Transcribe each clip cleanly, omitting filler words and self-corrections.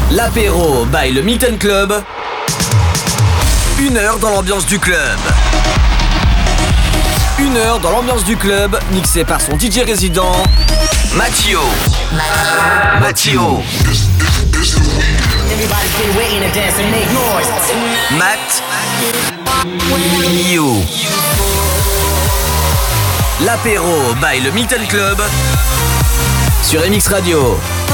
L'apéro by le Milton Club. 1 heure dans l'ambiance du club. 1 heure dans l'ambiance du club, mixé par son DJ résident, Mattio. Mattio. L'apéro by le Milton Club sur MX Radio.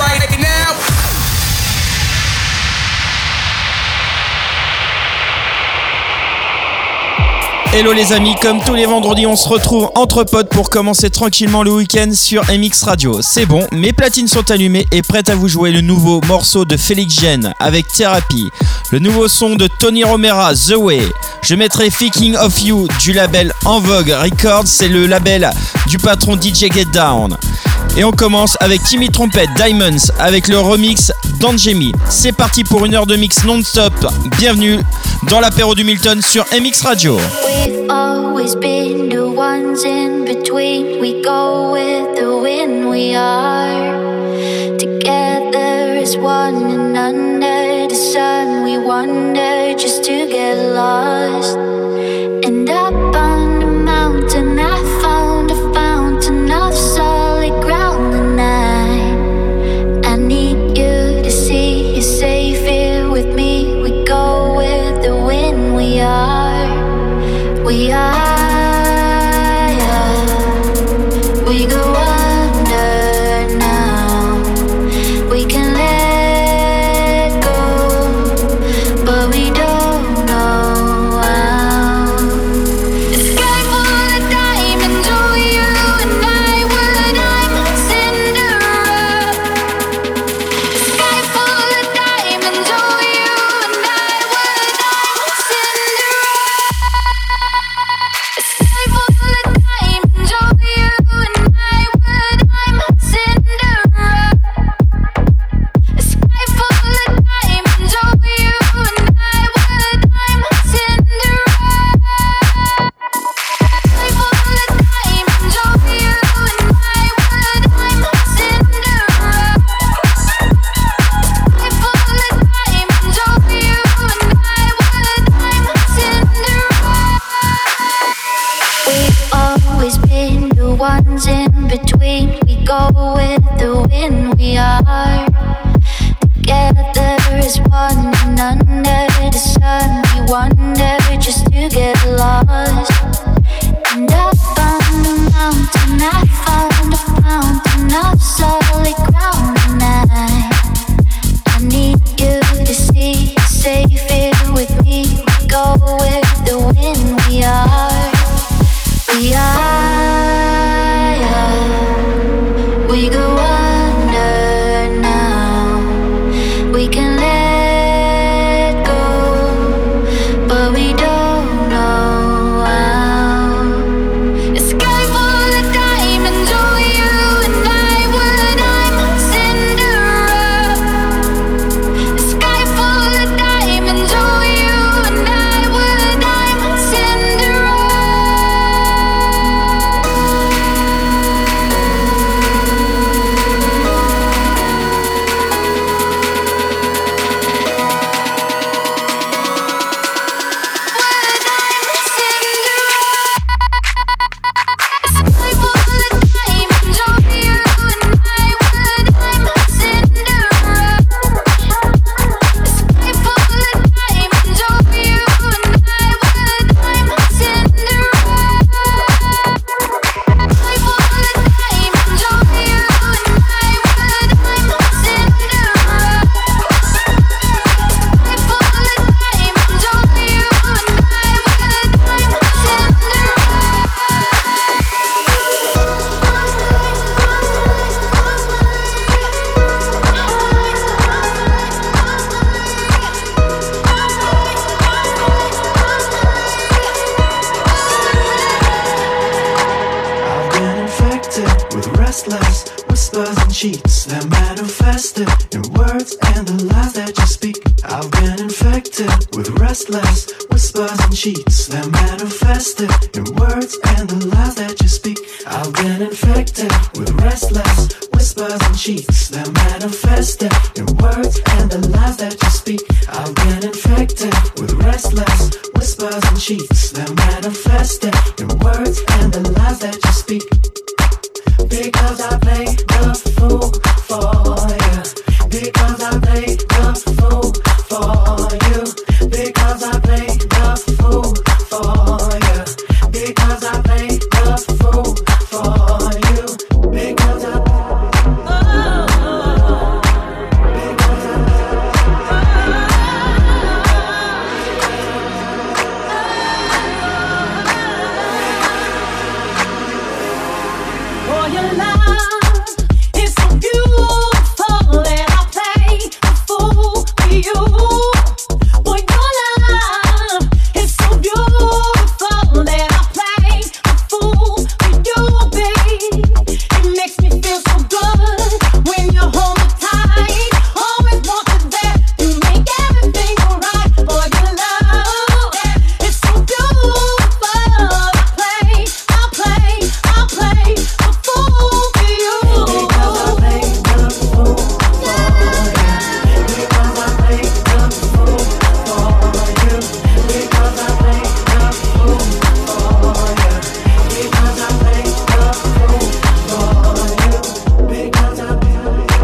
Hello les amis, comme tous les vendredis, on se retrouve entre potes pour commencer tranquillement le week-end sur MX Radio. C'est bon, mes platines sont allumées et prêtes à vous jouer le nouveau morceau de Félix Jean avec Thérapie, le nouveau son de Tony Romera, The Way. Je mettrai Thinking of You du label En Vogue Records, c'est le label du patron DJ Get Down. Et on commence avec Timmy Trumpet Diamonds avec le remix d'Angemi. C'est parti pour 1 heure de mix non-stop. Bienvenue dans l'apéro du Milton sur MX Radio. We've always been the ones in between. We go with the wind. We are together as one, and under the sun we wander just to get lost. And up on the mountain I found a fountain of solid ground tonight. I need you to see you're safe here with me. We go with the wind. We are. We go under now. We can let go, but we don't know how. The sky full of diamonds, oh you and I, when I'm Cinderella. The sky full of diamonds, oh you and I, when I'm Cinderella. The sky full of diamonds, oh you and I, when I'm Cinderella. The sky full of diamonds, oh you and I, when I'm Cinderella. Sky full of diamonds, oh you and I, when I'm Cinderella. Sky full of diamonds, oh you and I, when I'm Cinderella. We've always been the ones in between. We go with the wind. We are together as one, and under the sun we wander just to get lost. And up on the mountain I found a fountain of solid ground tonight. I need you to see you're safe here with me. We go with the wind. We are. We go under now. We can let go, but we don't know how. The sky full of diamonds, oh you and I, when I'm Cinderella. The sky full of diamonds, oh you and I, when I'm Cinderella. Whispers and cheats that manifested in words and the lies that you speak. I've been infected with restless whispers and cheats that manifested in words and the lies that you speak. I've been infected with restless whispers and cheats that manifested in words and the lies that you speak. I've been infected with restless whispers and cheats that manifested in words and the lies that you speak. Because I play the fool for you. Because I play the fool for you. Because I play the fool for you. Because I play the fool for you. Because I your love is so beautiful that I play the fool for you. Boy, your love is so beautiful that I play the fool for you, babe. It makes me feel so good when you hold me tight. Always want you there to make everything alright. Boy, your love is so beautiful. I'll play the fool for you. Because I play the fool for you. Because I play the fool for you. Because I play the fool for you. Because I play the fool for you. Because I play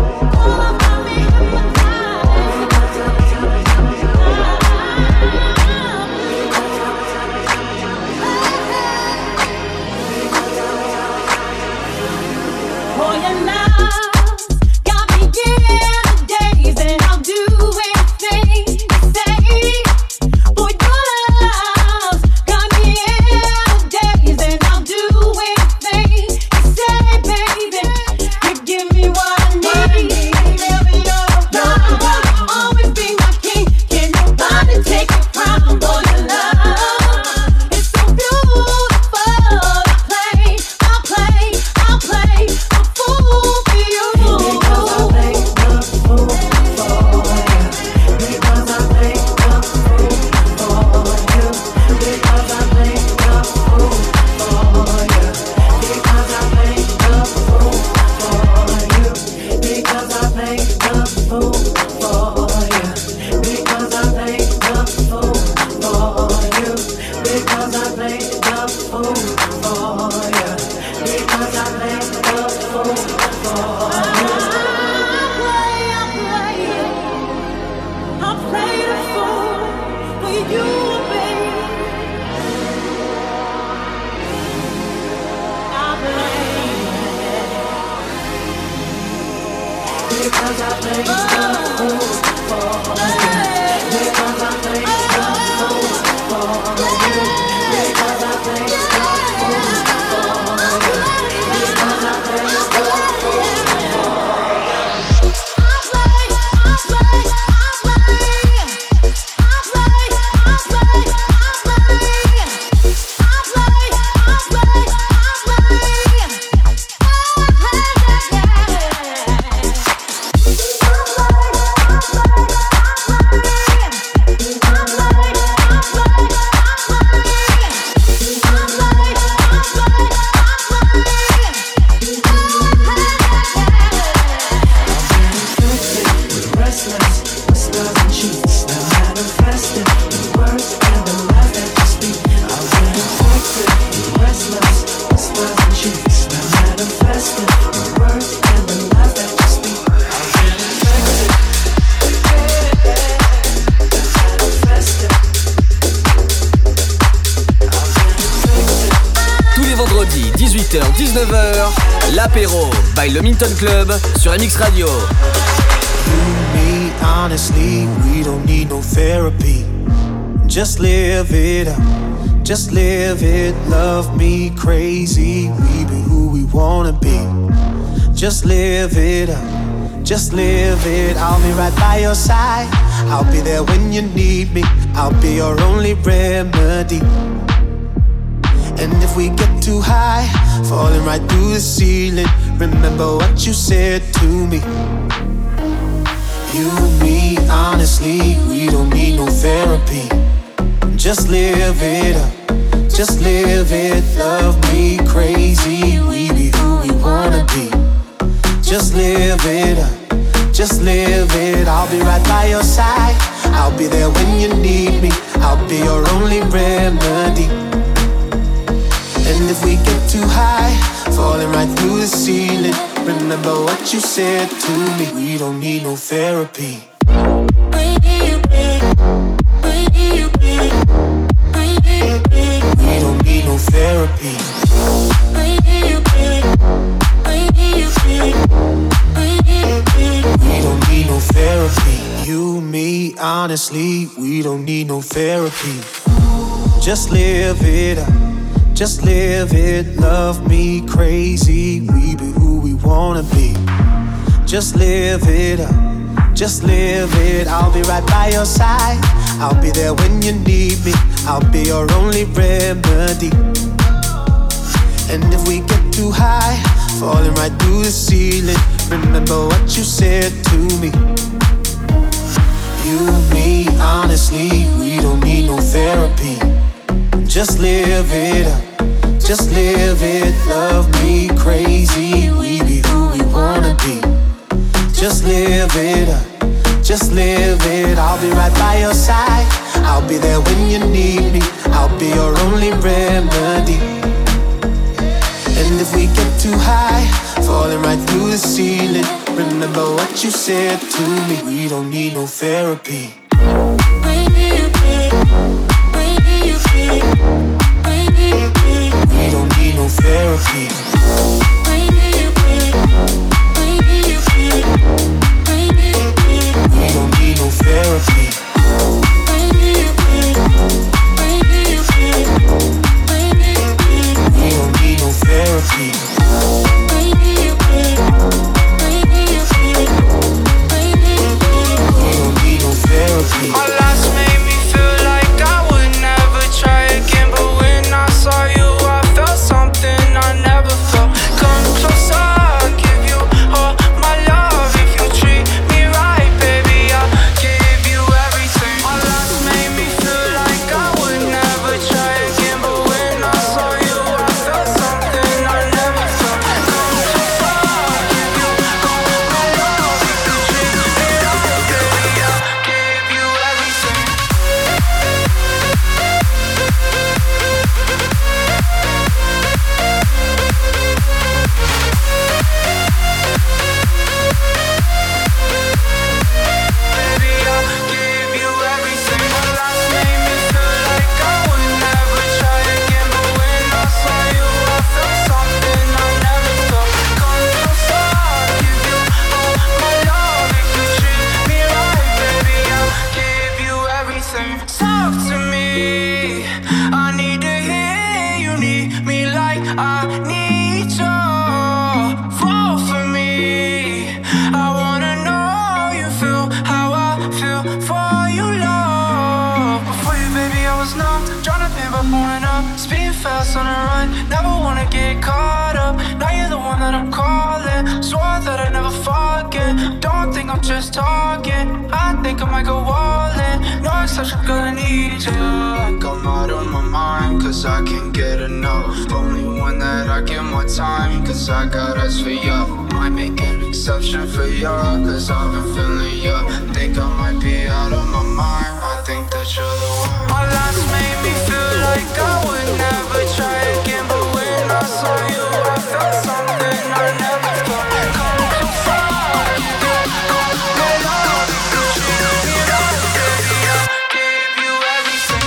boy, your love got me in the days, and I'll do anything you say. Boy, your love got me in the days, and I'll do anything you say, baby. You give me what I need. Never your love, always be my king. Can nobody take your crown, boy, your love is so beautiful. I'll play the fool for you. Because I play the fool for you. Because I play the fool for you. Because I play the fool for you. Because I play the fool for you. Because I play the fool for you. Because I play the fool for you. Because I play the fool for you. Because I play the fool for you. I'll play the fool for you, baby. I'll play. Because I play the fool for you. Because I play the fool for you. Because I play the fool for you. Because I play the fool for you. Tous les vendredis, 18h-19h, l'apéro by le Milton Club sur MX Radio. me, honestly, we don't need no therapy. Just live it up, just live it. Love me crazy, we be who we wanna be. Just live it up, just live it. I'll be right by your side, I'll be there when you need me. I'll be your only remedy. And if we get too high, falling right through the ceiling, remember what you said to me. You and me, honestly, we don't need no therapy. Just live it up, just live it. Love me crazy, we be who we wanna be. Just live it up, just live it. I'll be right by your side, I'll be there when you need me. I'll be your only remedy. And if we get too high, falling right through the ceiling, remember what you said to me. We don't need no therapy. We don't need no therapy. We don't need no therapy. You, me, honestly, we don't need no therapy. Just live it up, just live it. Love me crazy, we be who we wanna be. Just live it up, just live it. I'll be right by your side, I'll be there when you need me. I'll be your only remedy. And if we get too high, falling right through the ceiling, remember what you said to me. You and me, honestly, we don't need no therapy. Just live it up, just live it. Love me crazy, we be who we wanna be. Just live it up, just live it. I'll be right by your side, I'll be there when you need me. I'll be your only remedy. And if we get too high, falling right through the ceiling, remember what you said to me. We don't need no therapy. We don't need no therapy. We don't need no therapy. We don't need no therapy. My last made me feel like I would never try again, but when I saw you, I felt something I never felt. Come closer, I'll give you all my love. If you treat me right, baby, I'll give you everything. My last made me feel like I would never try again, but when I saw you, I felt something I never felt. Come closer, I'll give you all my love. If you treat me right, baby, I'll give you everything. Baby, I'll give you everything. My last made me feel like I would never try again, but when I saw you, I felt something I never felt. Come closer, I'll give you all my love. If you treat me right, baby, I'll give you everything. Talk to me, I need to hear you need me like I need you. Fall for me, I wanna know you feel how I feel for you, love. Before you, baby, I was numb, trying to pin by pulling up, speeding fast on the run, never wanna get caught up. Now you're the one that I'm calling, swore that I'd never forget. Don't think I'm just talking, I think I might go all in. No exception, gonna need you. Like I'm out of my mind, cause I can't get enough. Only one that I give my time, cause I got eyes for you. Might make an exception for you, cause I've been feeling you. Think I might be out of my mind, I think that you're the one. My last made me feel like I would never try again, but when I saw you, I felt something I never felt. Come closer, I'll give you all my love. If you treat me right, baby, I'll give you everything.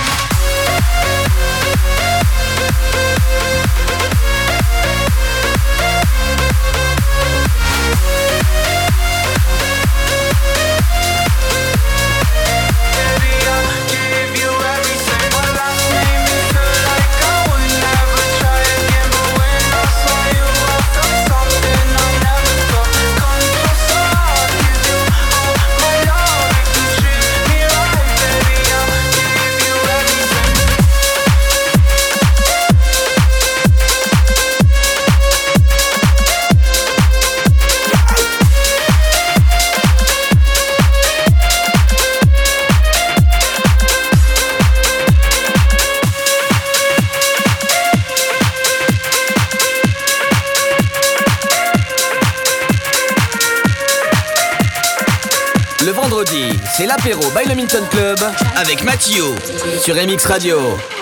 vendredi, c'est l'apéro by le Milton Club avec Mathieu sur MX Radio.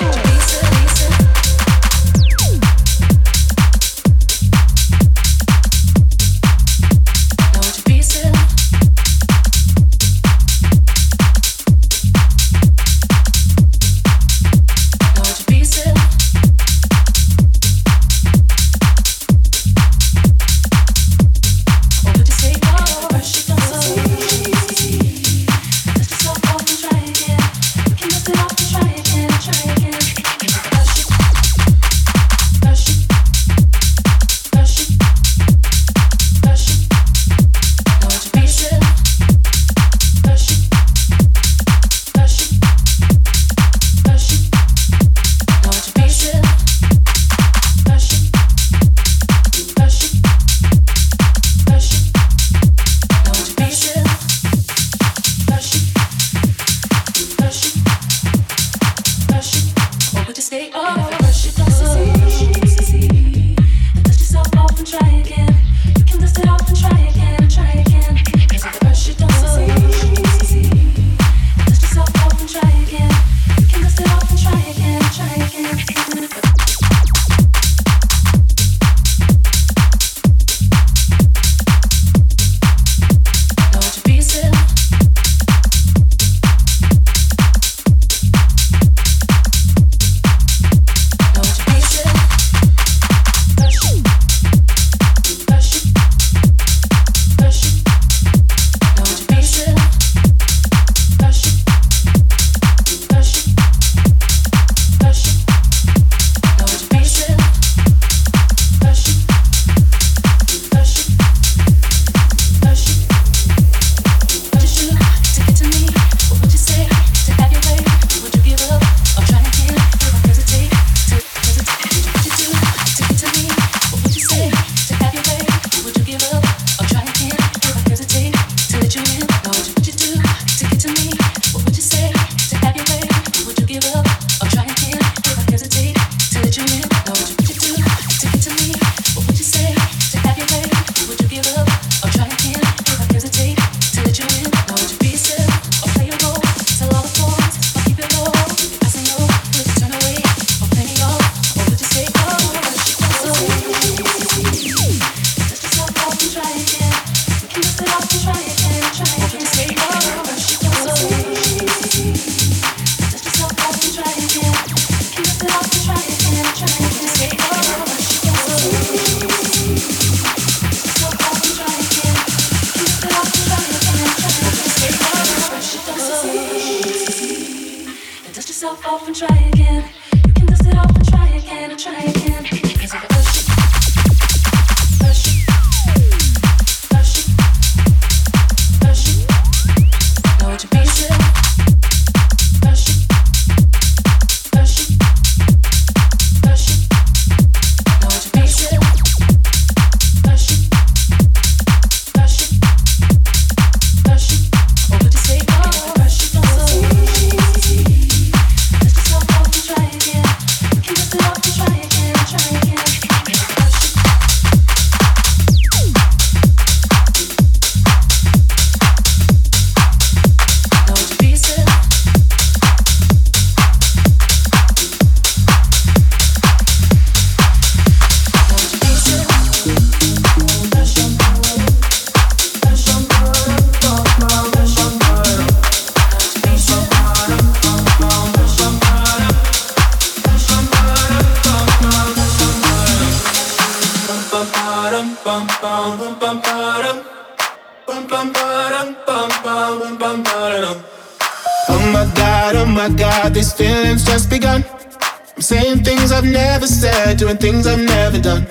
Oh my God, these feelings just begun. I'm saying things I've never said, doing things I've never done.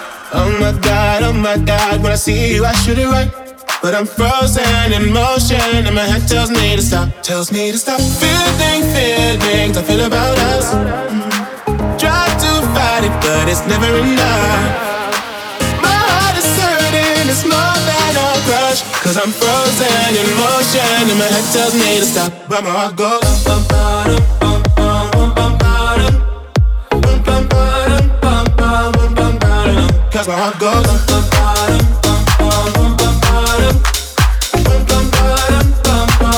Oh my God, when I see you I shoot it right. But I'm frozen in motion and my head tells me to stop. Tells me to stop. Feelings I feel about us. Try to fight it but it's never enough. My heart is hurting, it's more than a crush. Cause I'm frozen in motion and my head tells me to stop. But my heart goes bum, bum, bum, bum, bum, bum, bum, bum, bum, bum, bum, cause my heart goes bum, bum, bum, bum, bum, bum, bum, bum, bum, bum, bum,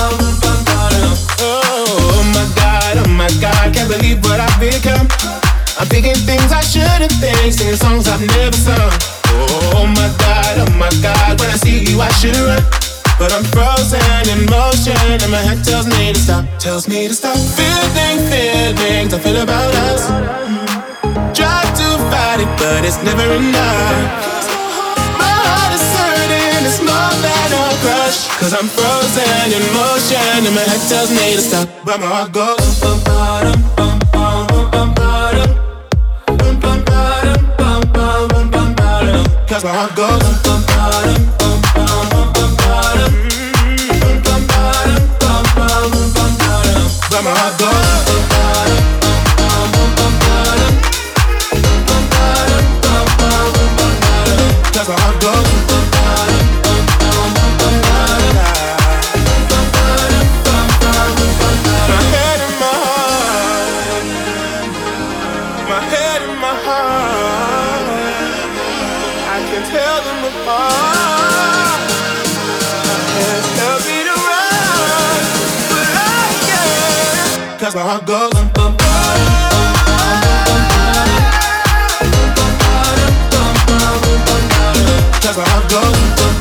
pretty things, singing songs I've never sung. Oh my God, when I see you I should run. But I'm frozen in motion and my head tells me to stop. Feelings I feel about us. Try to fight it, but it's never enough. My heart is hurting, it's more than a crush. Cause I'm frozen in motion and my head tells me to stop. But my heart goes bum bum bum bum bum bum bum bum bum bum bum bum. Cause my heart goes bum bum bum bum bum bum bum. But my heart goes that's my heart goes. My head and my heart, I can tell them apart. My head tells me to run, but I can't. Cause my heart goes Cause my heart goes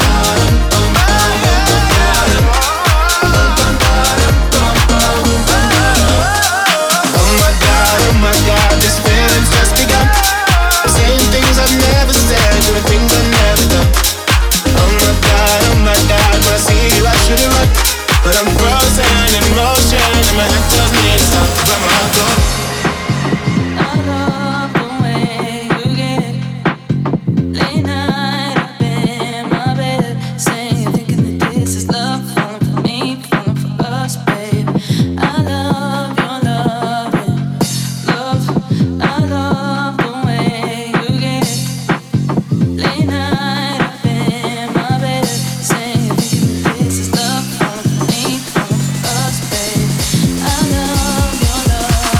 oh my God, this feeling's just begun. Saying things I've never said, doing things I've never done. Oh my God, when I see you I should've run. But I'm frozen in motion and my head tells me to stop. But my heart goes I love the way you get late night up in my bed, saying, thinking that this is love, falling for me, falling for us, babe. I love your loving, love. I love the way you get late night up in my bed, saying, thinking that this is love, falling for me, falling for us, babe. I love your loving.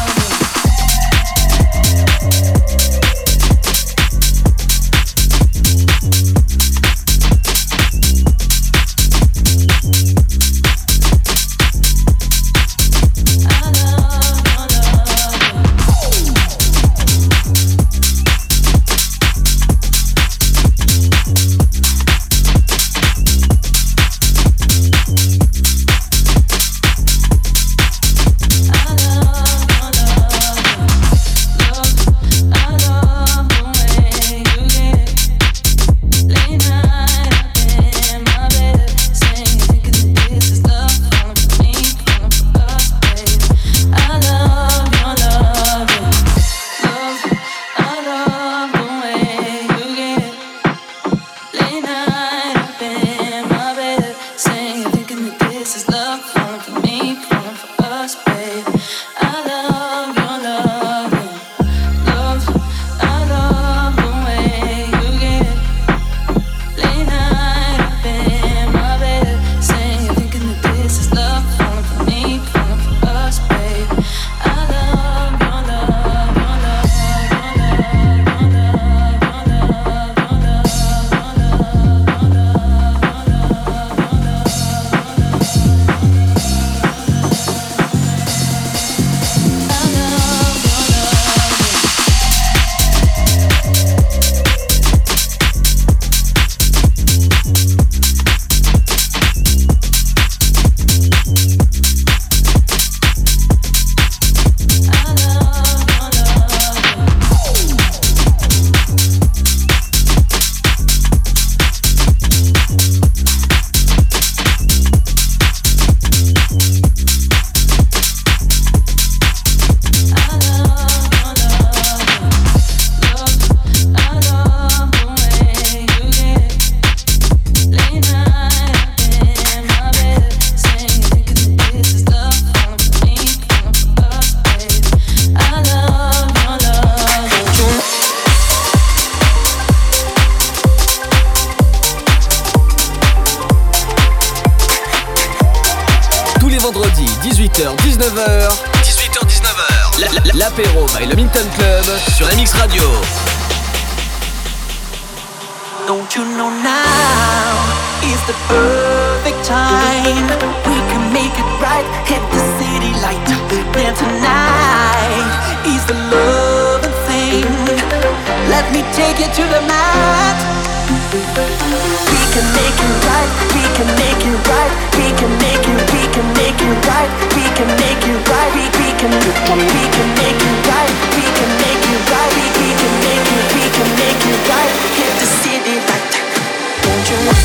vendredi 18h-19h. 18h-19h. L'apéro by le Milton Club sur MX Radio. Don't you know now is the perfect time? We can make it right, hit the city light. Then tonight is the loving thing. you to the mat. We can make it right. We can make it right. We can make it. We can make it right. We can make it right. We can make it right. We can make it right. We can make it. We can make it right. Hit the city like that. Don't you know?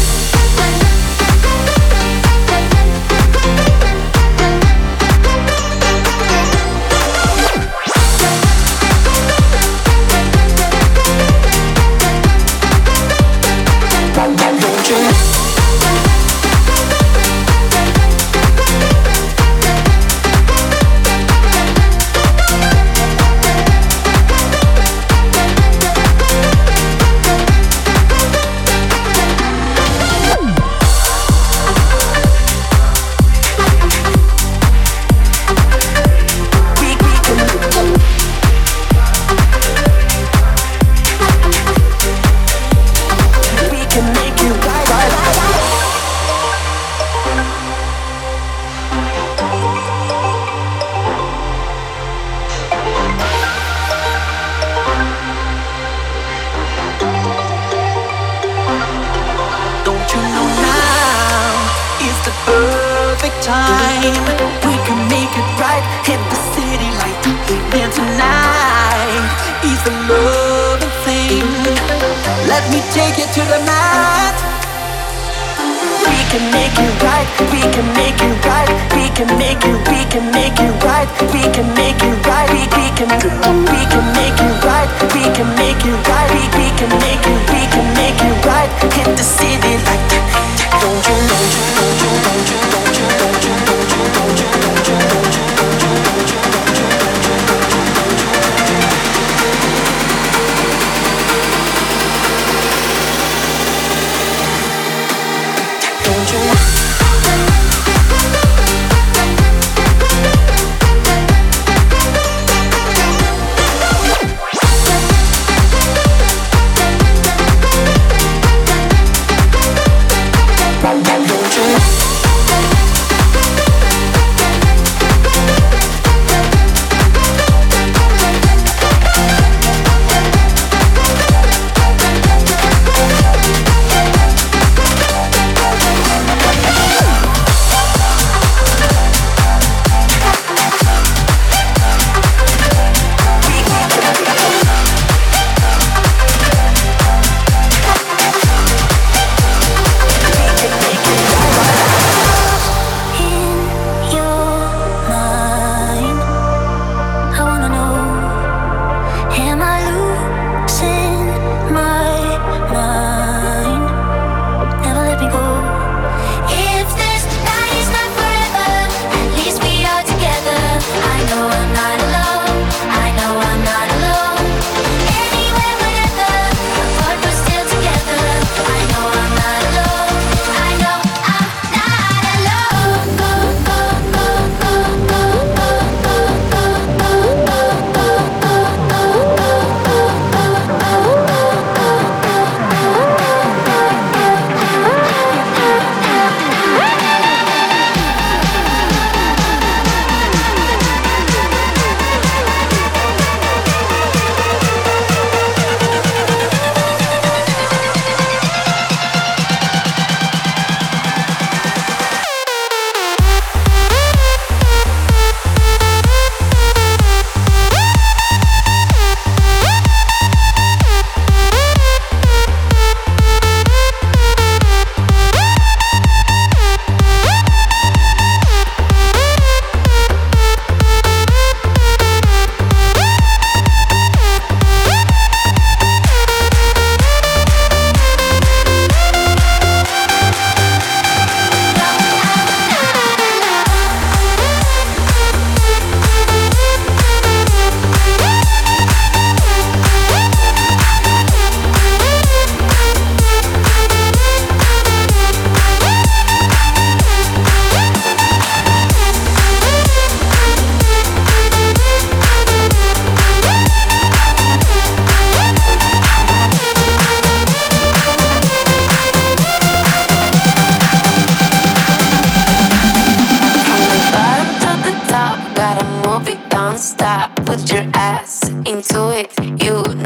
Put your ass into it. You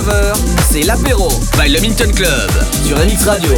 19h, c'est l'apéro by le Minton Club sur MX Radio.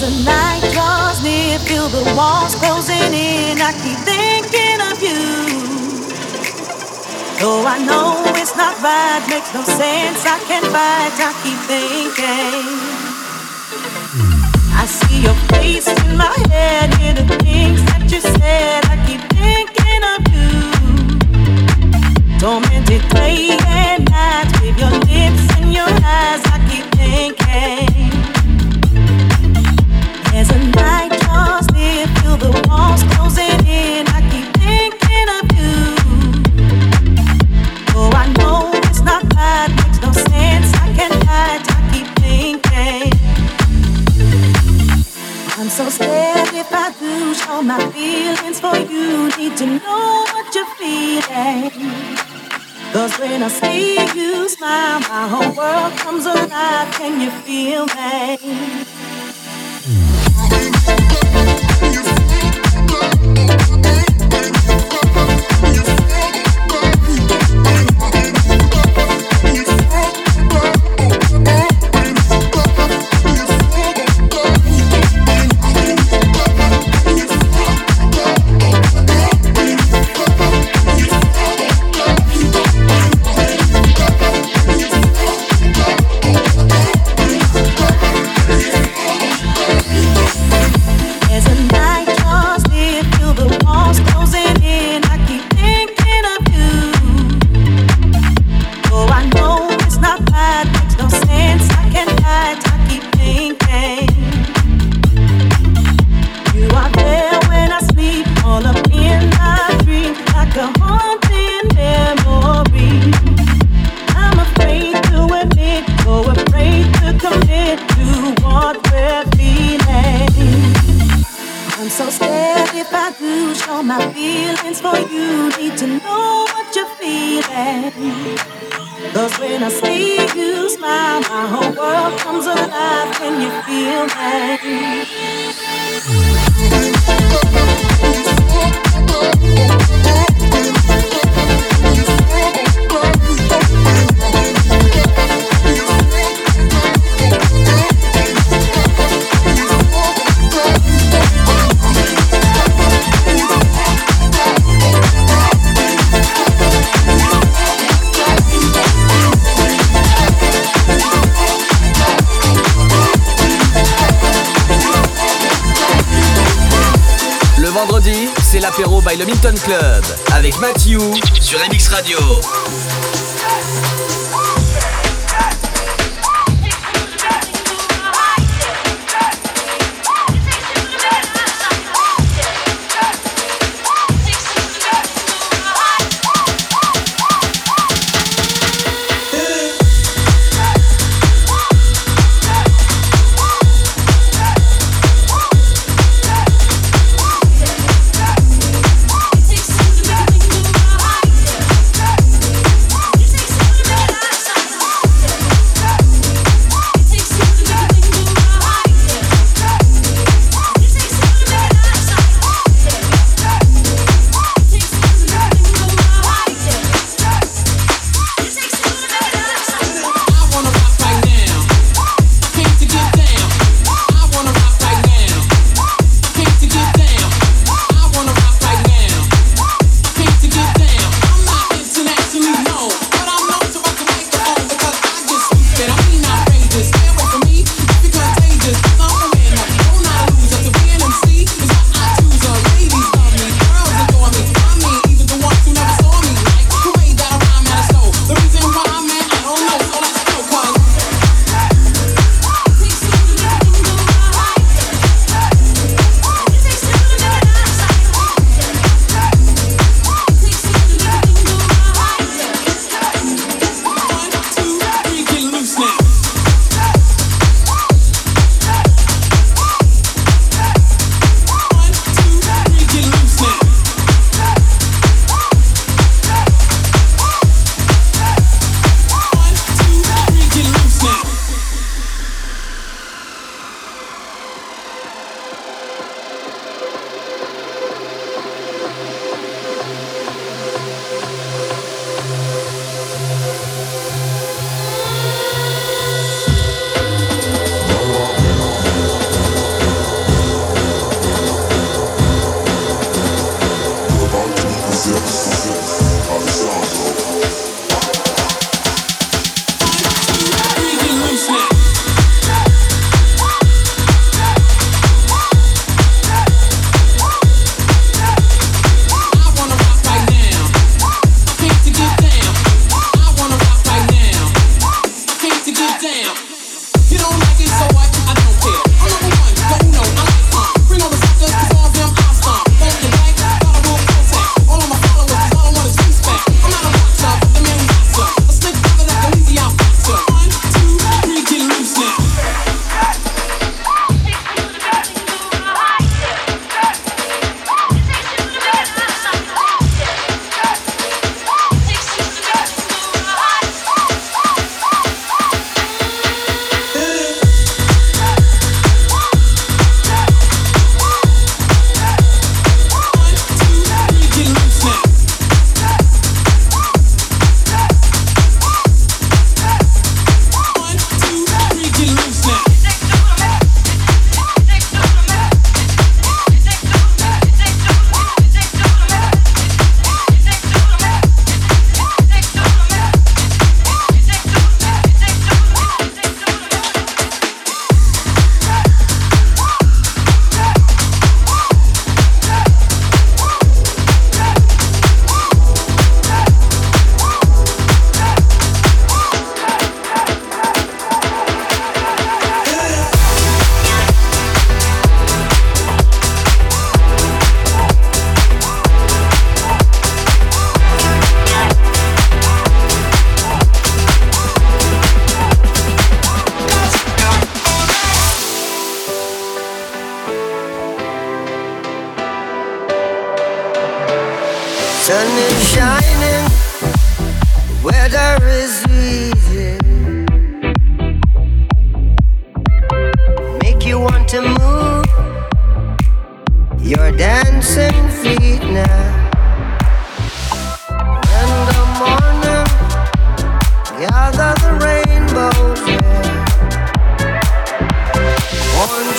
the night draws near, feel the walls closing in. I keep thinking of you. Though I know it's not right, makes no sense, I can't fight, I keep thinking. I see your face in my head, hear the things that you said, I keep thinking of you. Tormented day and night, with your lips and your eyes, I keep thinking. As the night draws near, feel the walls closing in, I keep thinking of you. Oh, I know it's not right, makes no sense, I can't hide, I keep thinking. I'm so scared if I do show my feelings for you, need to know what you're feeling. Cause when I see you smile, my whole world comes alive, can you feel me? C'est l'apéro by le Milton Club avec Mathieu sur MX Radio. Take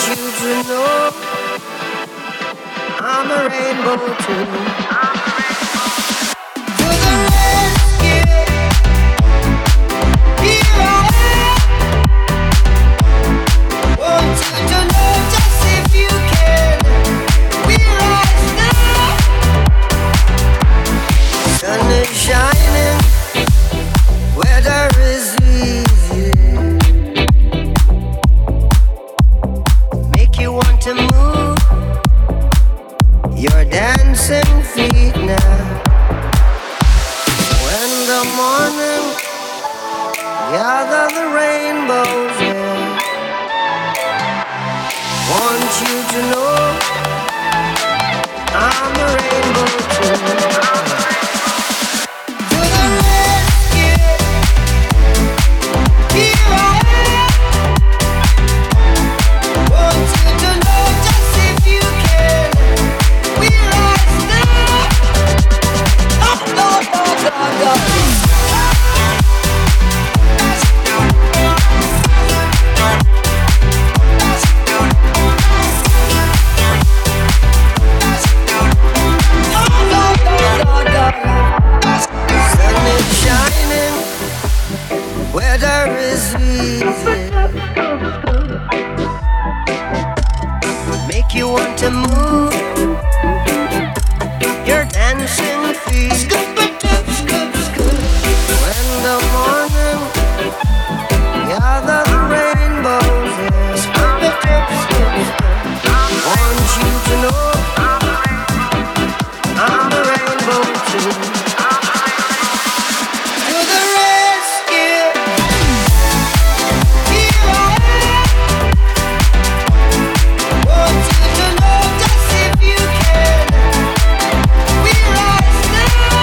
you to know I'm a rainbow too. To the rescue, here I am. Want you to know just if you can. We're rise now. Sun is shining, weather is easy. Make you want to move your dancing feet now. When the morning gather the rainbows in, want you to know I'm a rainbow too. To the rescue, here I am. Want you to know just if you can. We're rise now. Oh, no, no, no, no. Sun is shining, weather is easy. Make you want to move your dancing feet. When the morning gather the rainbows in, want you to know I'm a rainbow too. To the rescue, here I am. Want you to know just if you can. We rise now.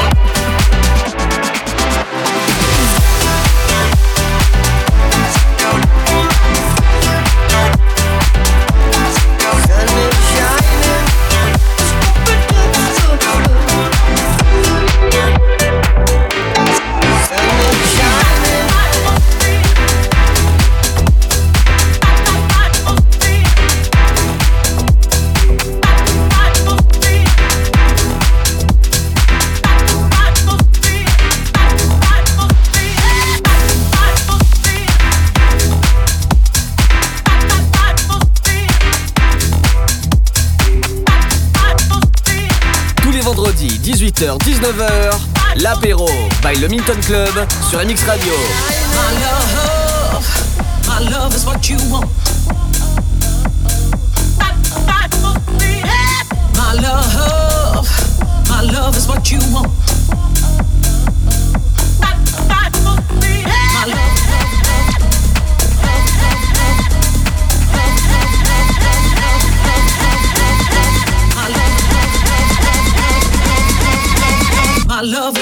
Sun is shining. Sun is shining. Tous les vendredis 18h-19h, l'apéro by le Minton Club sur MX Radio. My love is what you want. My love is what you want. My love. My love.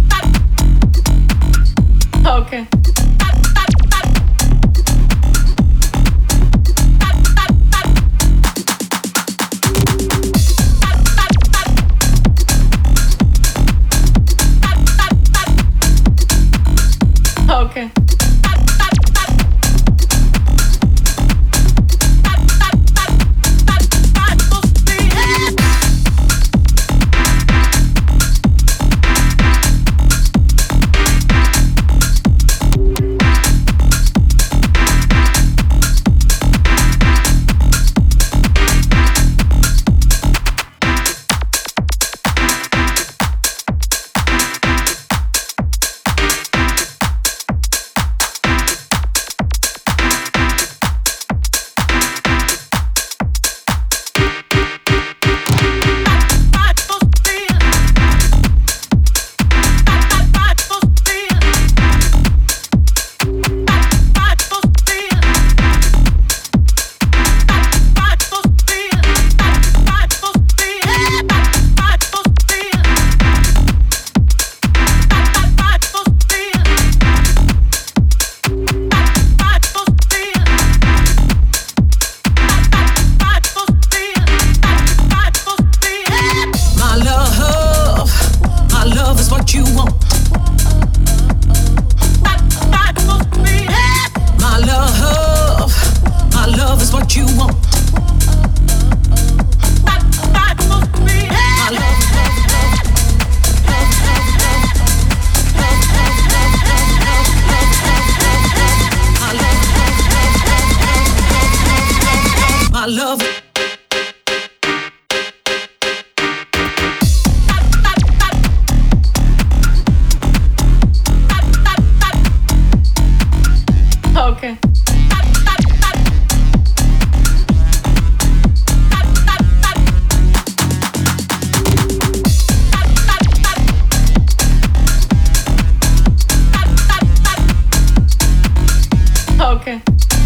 Okay. love. Okay. Okay.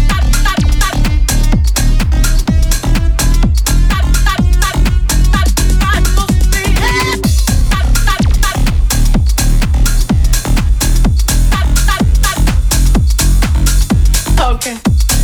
Okay.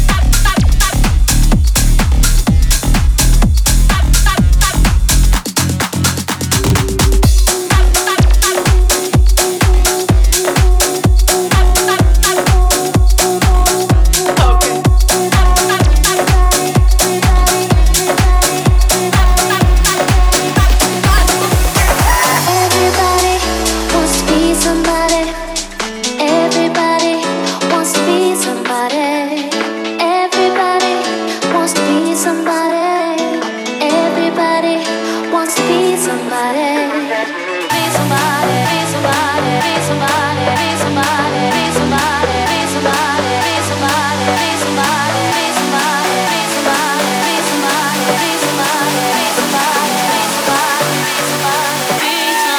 Everybody wants to be somebody. Everybody wants to be somebody. Everybody wants to be somebody. Everybody wants to be somebody. Be somebody, be somebody, be somebody, be somebody, be somebody, be somebody, be somebody, be somebody, be somebody, be somebody, be somebody, be somebody, be somebody, be somebody, be somebody, be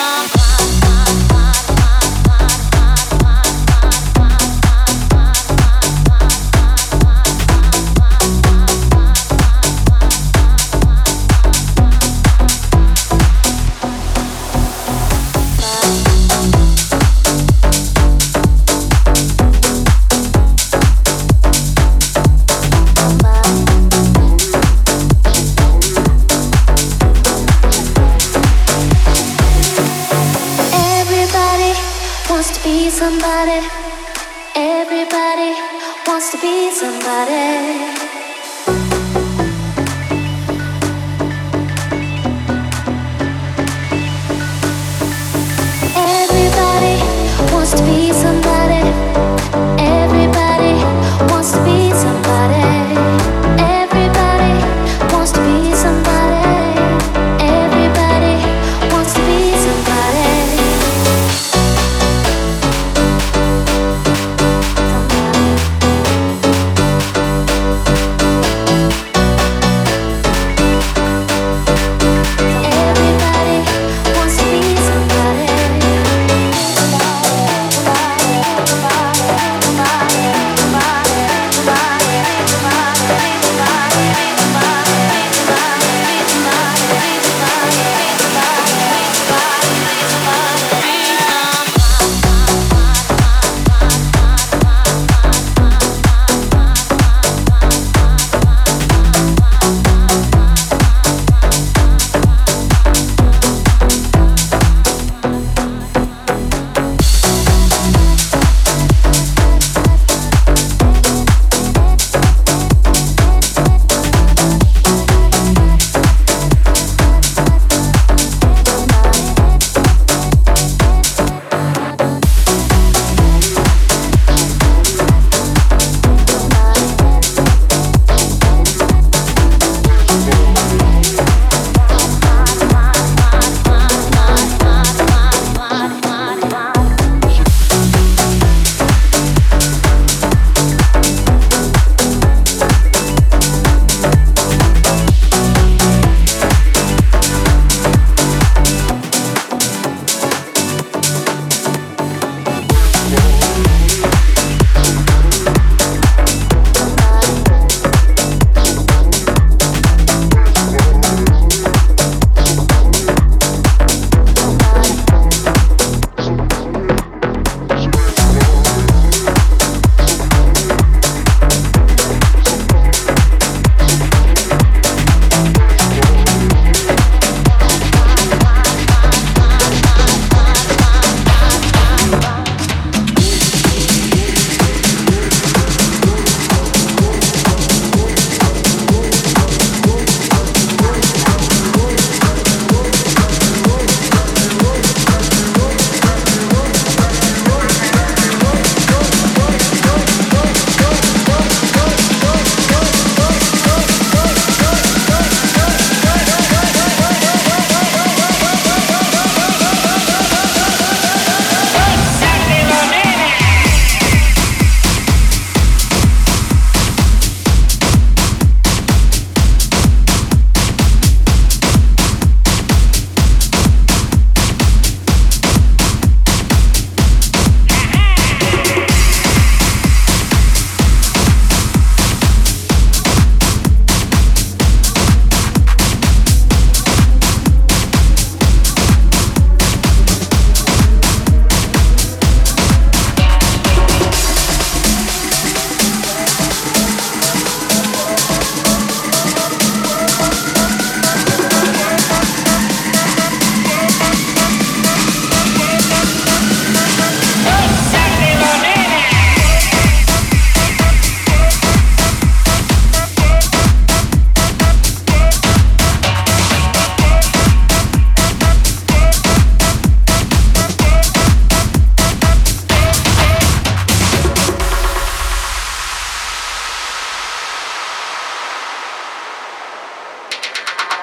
Everybody wants to be somebody. Everybody wants to be somebody. Everybody wants to be somebody. Everybody wants to be somebody. Everybody wants to be somebody. Everybody wants to be somebody. Somebody.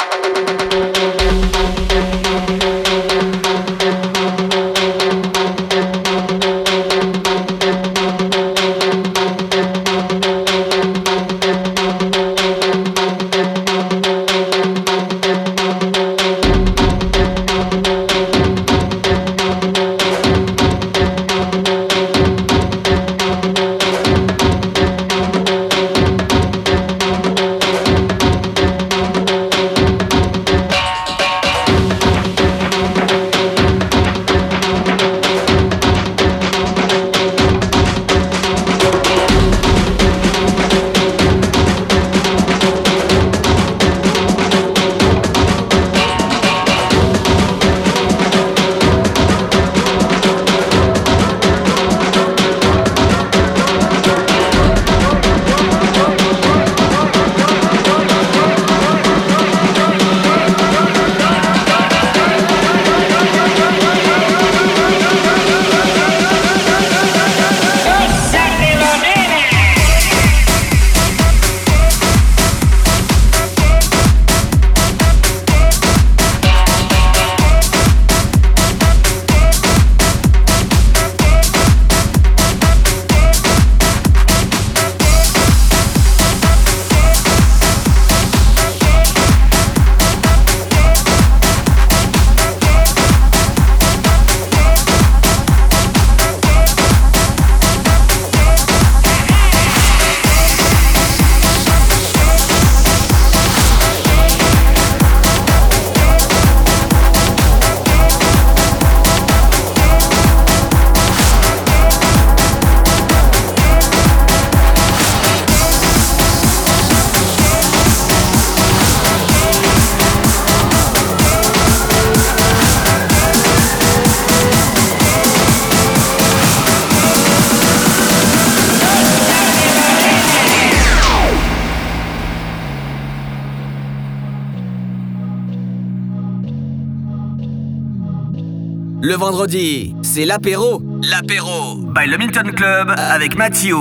Le vendredi, c'est l'apéro. L'apéro by le Milton Club avec Mathieu.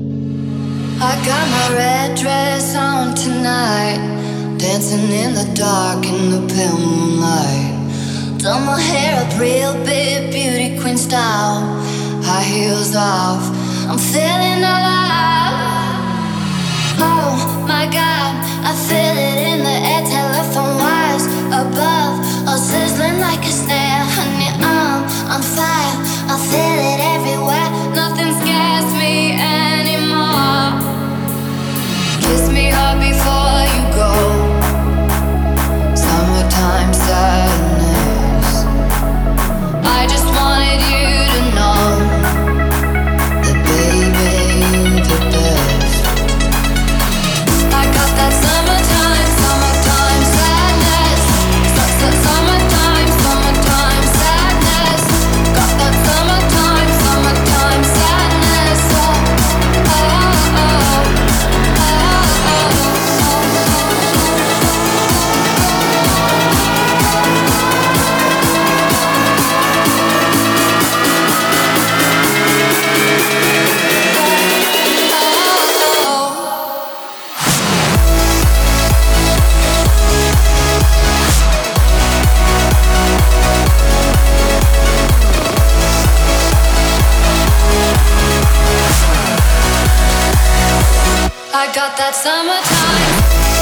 I got my red dress on tonight, dancing in the dark in the pale moonlight. Done my hair up real big, beauty queen style. High heels off, I'm feeling alive. Oh my God, I feel it in the air, telephone wires above, all sizzling like a snare. Honey, I'm on fire, I feel it everywhere. Nothing scares me anymore. Kiss me hard before you go. Summertime sadness. I just wanted you to know that baby, you're the best. I got that summertime sadness. Summertime sadness. Got that summertime sadness. Oh, oh, oh. I got that summertime.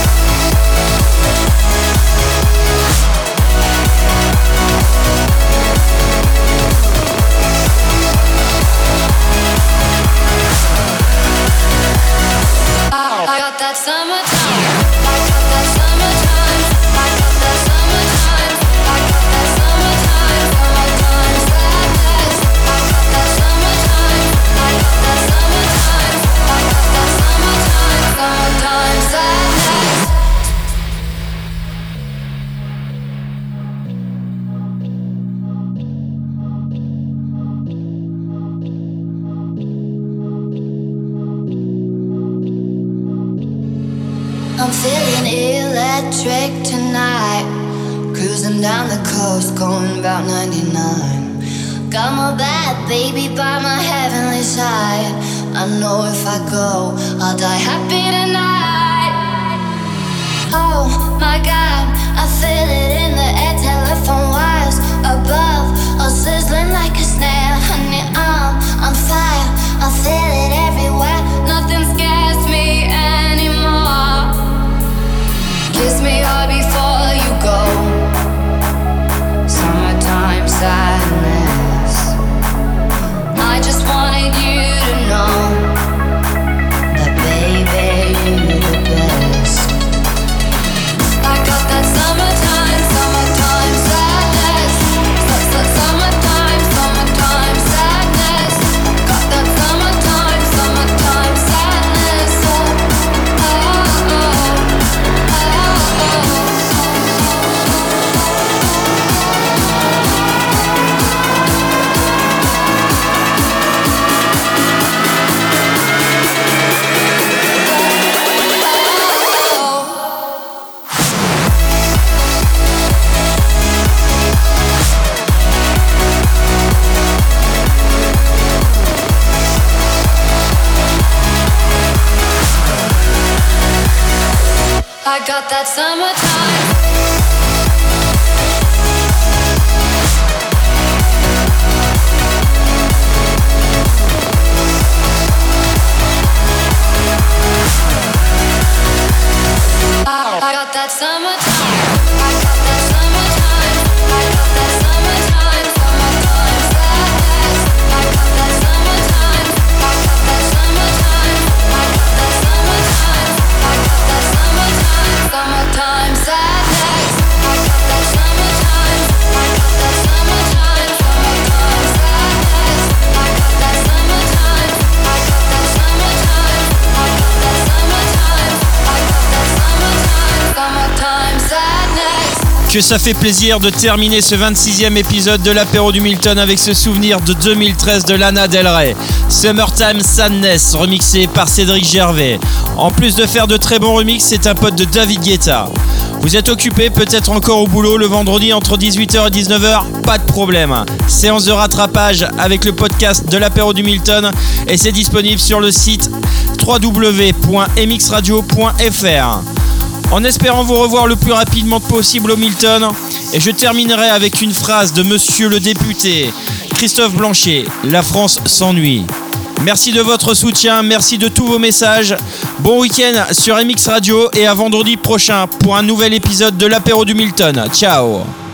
I got that summertime. I got that summertime. I got that summertime. I got that summertime. Summertime sadness. I got that summertime. I got that summertime. I got that summertime sadness. I'm feeling electric tonight, cruising down the coast, going about 99. Got my bad baby by my heavenly side. I know if I go, I'll die happy tonight. Oh my God, I feel it in the air, telephone wires above, all sizzling like a snare. Honey, I'm on fire, I feel it everywhere. Nothing scares me anymore. Kiss me hard before you go. Summertime sadness. I just wanted you to know that, baby, you're the best. I got that summertime, summertime sadness. Summertime, summertime sadness. Got that summertime, summertime sadness. Oh, oh, oh, I got that summertime. I got that summertime. I got that summertime. I got that summertime. Summertime sadness. I got that summertime. I got that summertime. I got that summertime. I got that summertime. Summertime sadness. I got that summertime. I got that summertime. Summertime sadness. I got that summertime. I got that summertime. I got that summertime. I got that summertime. Summertime sadness. Que ça fait plaisir de terminer ce 26e épisode de l'apéro du Milton avec ce souvenir de 2013 de Lana Del Rey. Summertime Sadness, remixé par Cédric Gervais. En plus de faire de très bons remixes, c'est un pote de David Guetta. Vous êtes occupé, peut-être encore au boulot le vendredi entre 18h et 19h, pas de problème. Séance de rattrapage avec le podcast de l'apéro du Milton et c'est disponible sur le site www.mxradio.fr. En espérant vous revoir le plus rapidement possible au Milton, et je terminerai avec une phrase de monsieur le député Christophe Blanchet: la France s'ennuie. Merci de votre soutien, merci de tous vos messages. Bon week-end sur MX Radio et à vendredi prochain pour un nouvel épisode de l'apéro du Milton. Ciao.